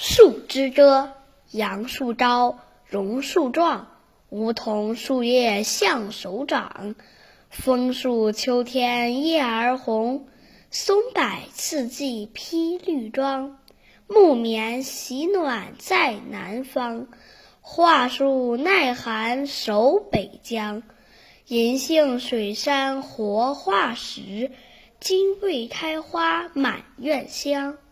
树之歌，杨树昭，榕树壮，梧桐树叶像手掌。枫树秋天叶儿红，松柏次第披绿装。木棉喜暖在南方，桦树耐寒守北疆。银杏水杉活化石，金桂开花满院香。